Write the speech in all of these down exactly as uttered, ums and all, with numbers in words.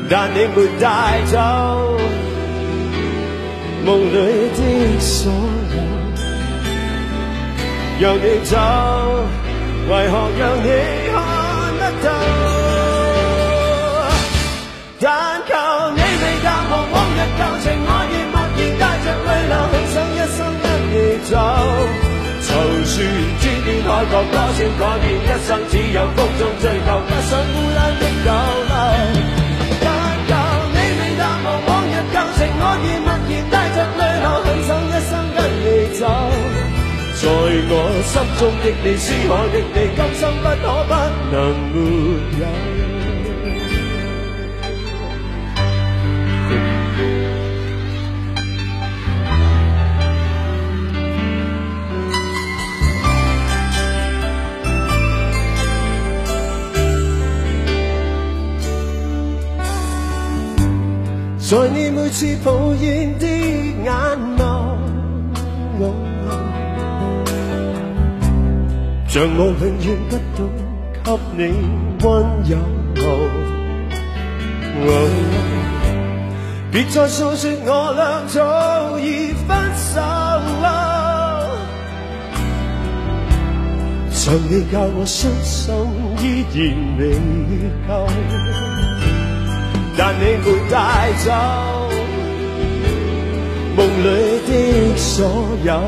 但你沒帶走夢裏的所有，讓你走，為何讓你看得到？但求你未淡忘往日舊情，我亦默然帶着淚流，很想一生跟你走。就算千變海角，多少改變，一生只有風中追求，不想孤單的逗留。我已默然帶着淚流，很想一生跟你走。在我心中的你，思海的你，今生不可不能沒有。在你每次抱怨的眼眸，像我永遠不懂給你溫柔。別再訴說我倆早已分手，像你教我傷心依然未夠。但你沒帶走夢裏的所有，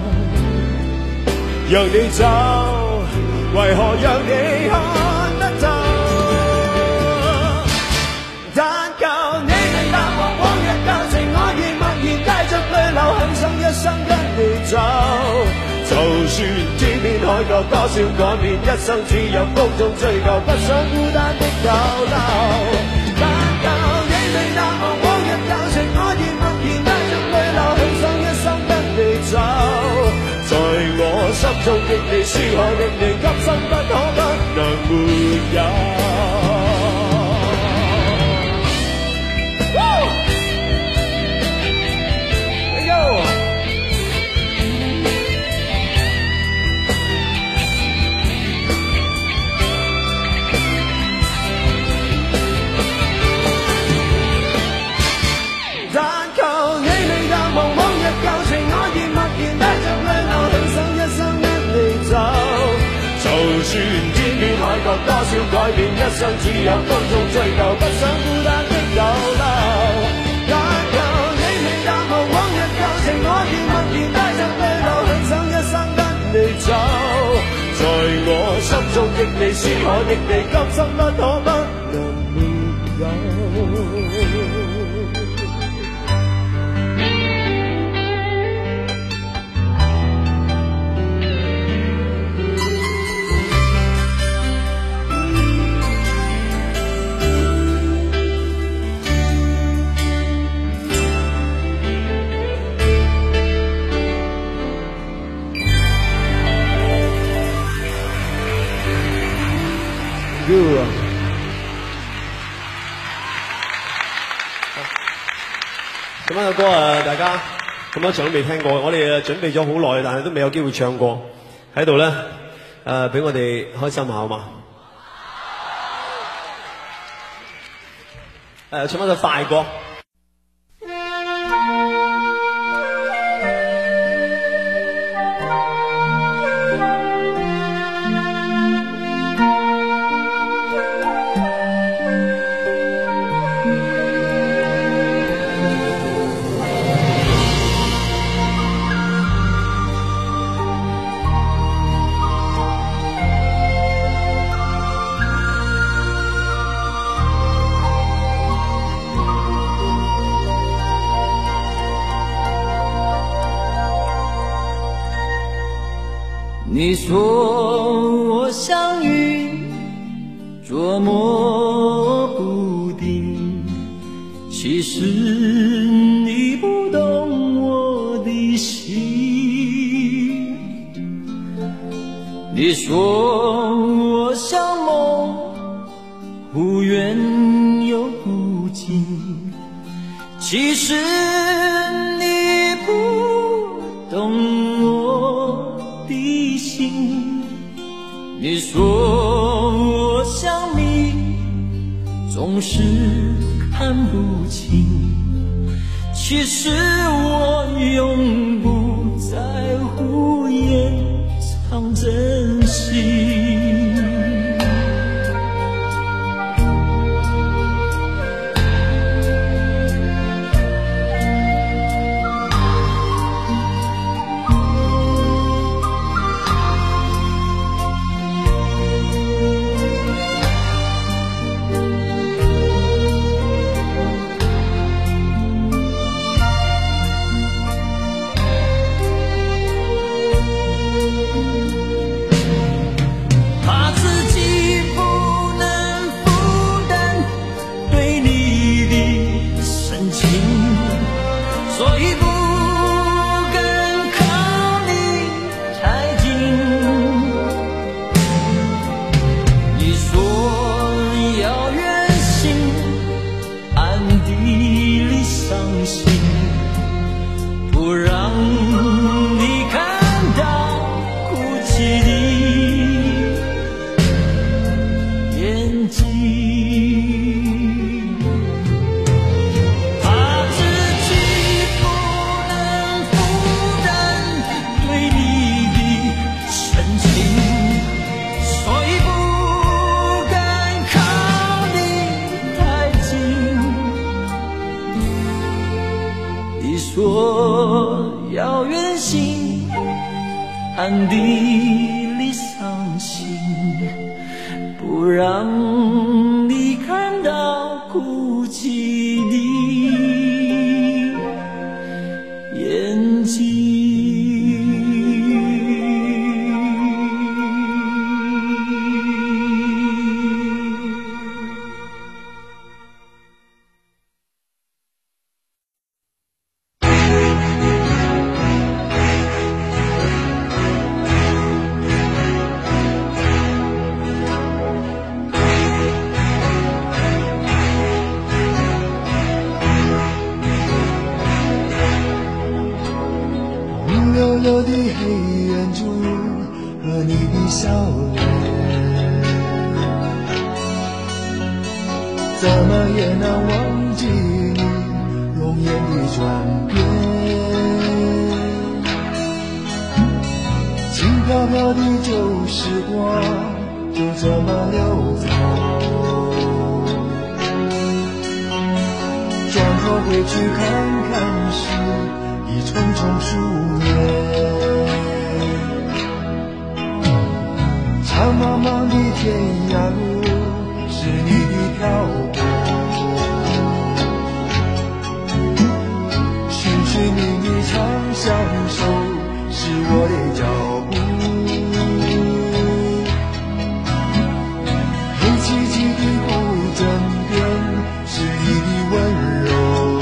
讓你走，為何讓你看得到？但求你未淡忘往日舊情，我已默然帶着淚流，很想一生跟你走。就算天邊海角多少改變，一生只有風中追求，不想孤單的逗留。淡忘往日舊情，我已默然帶着淚流，很想一生跟你走。在我心中的你，思海的你，今生不可不能沒有。多少改變，一生只有風中追求，不想孤單的逗留。但求你未淡忘往日舊情，我已默然帶着淚流，很想一生跟你走。在我心中的你，思海的你，今生不可不能沒有。咁樣嘅歌啊，大家咁多場都未聽過，我哋準備咗好耐，但係都未有機會唱過，喺度咧誒，俾我哋開心下好嘛？誒，唱翻首快歌。 你说我像云捉摸不定，其实你不懂我的心。你说我像梦，忽远又不近，其实你不懂我的心。你说我像你，总是谈不清，其实我永不在乎，掩藏真心。暗地里伤心，不让你看到哭泣的眼睛。 溜溜的黑眼珠和你的笑脸，怎么也难忘记你容颜的转变。轻飘飘的旧时光就这么溜走，转头回去看看时已匆匆数年。长茫茫的天涯路是你的漂泊，寻寻觅觅长相守是我的脚步，黑漆漆的古镇边是你的温柔，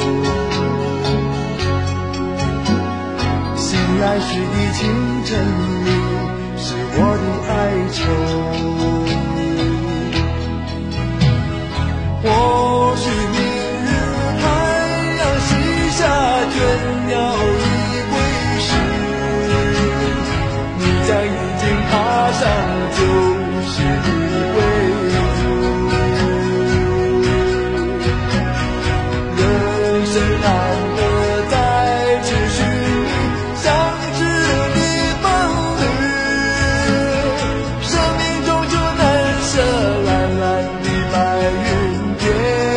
醒来时的清晨里是我的哀愁。或许明日太阳西下，倦鸟已归时，你将已经踏上旧时的归途。人生难得再次寻觅相知的伴侣，生命中就难舍蓝蓝的白云天。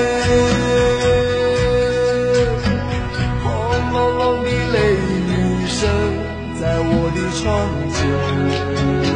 轰隆隆的雷雨声在我的窗前，